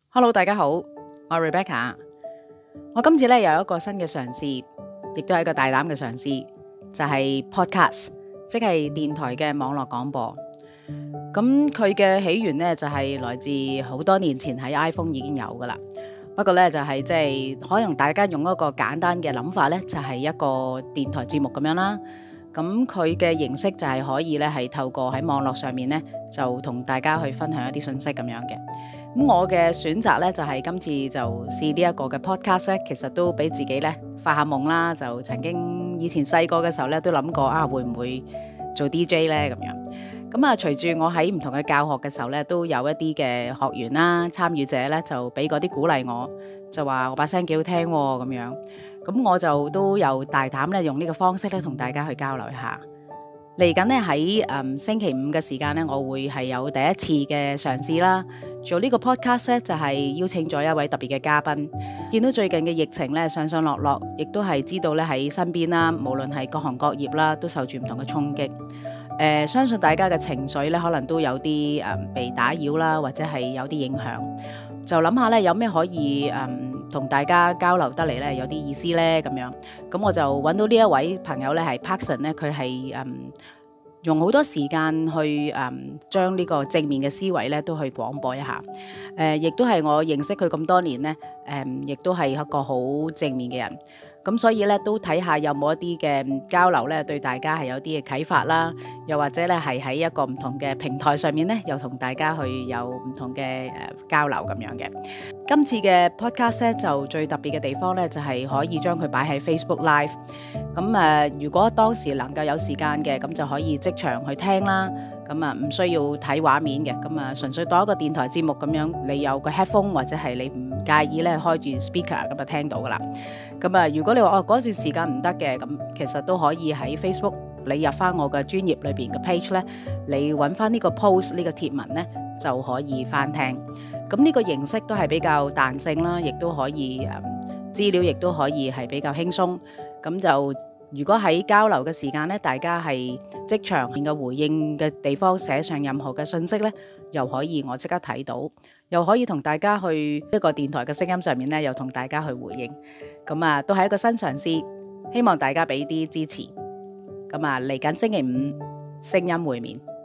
Hello，大家好，我係 Rebecca。我今次咧有一個新嘅嘗試，亦都係一個大膽嘅嘗試，就係 podcast，即係電台嘅網絡廣播。咁佢嘅起源呢，就係來自好多年前喺 iPhone 已經有噶啦。不過咧就係即係可能大家用一個簡單嘅諗法咧，就係一個電台節目咁樣啦。咁佢嘅形式就係可以咧係透過喺網絡上面咧，就同大家去分享一啲信息咁樣嘅。咁我嘅選擇咧就係今次就試呢一個嘅 podcast 咧，其實都俾自己咧發下夢啦。就曾經以前細個嘅時候咧，都諗過會唔會做 DJ 咧咁樣。咁隨住我喺唔同嘅教學嘅時候咧，都有一啲嘅學員啦、參與者咧，就俾嗰啲鼓勵我，就話我把聲幾好聽喎咁樣。咁我就都有大膽咧用呢個方式咧同大家去交流一下。嚟緊咧喺星期五嘅時間咧，我會係有第一次嘅嘗試啦。做呢個 podcast 咧，就係邀請咗一位特別嘅嘉賓。見到最近嘅疫情咧上上落落，亦都係知道咧喺身邊啦，無論係各行各業啦，都受住唔同嘅衝擊。相信大家嘅情緒咧，可能都有啲被打擾啦，或者係有啲影響。就諗下咧，有咩可以同大家交流得嚟咧，有啲意思咧咁樣。咁我就揾到呢一位朋友咧，係 Parkson 咧，佢係用好多時間去將呢個正面嘅思維咧，都去廣播一下。亦都係我認識佢咁多年咧，亦都係一個好正面嘅人。咁所以咧，都睇下有冇一啲嘅交流咧，對大家係有啲嘅啟發啦。又或者咧，係喺一個唔同嘅平台上面咧，又同大家去有唔同嘅交流咁樣嘅。今次嘅 podcast 咧，就最特別嘅地方咧，就係可以將佢擺喺 Facebook Live。咁如果當時能夠有時間嘅，咁就可以即場去聽啦。咁唔需要睇畫面嘅，咁純粹當一個電台節目咁樣，你有個 headphone 或者係你唔介意咧開住 speaker 咁就聽到噶啦。咁如果你話嗰段時間唔得嘅，咁其實都可以喺 Facebook 你入翻我嘅專頁裏邊嘅 page 咧，你揾翻呢個 post 呢個貼文咧就可以翻聽。咁呢個形式都係比較彈性啦，亦都可以資料亦都可以係比較輕鬆。咁就如果喺交流嘅時間咧，大家係即場嘅回應嘅地方寫上任何嘅信息咧，又可以我即刻睇到，又可以同大家去一個電台嘅聲音上面咧，又同大家去回應。咁都係一個新嘗試，希望大家俾啲支持。咁嚟緊星期五聲音會面。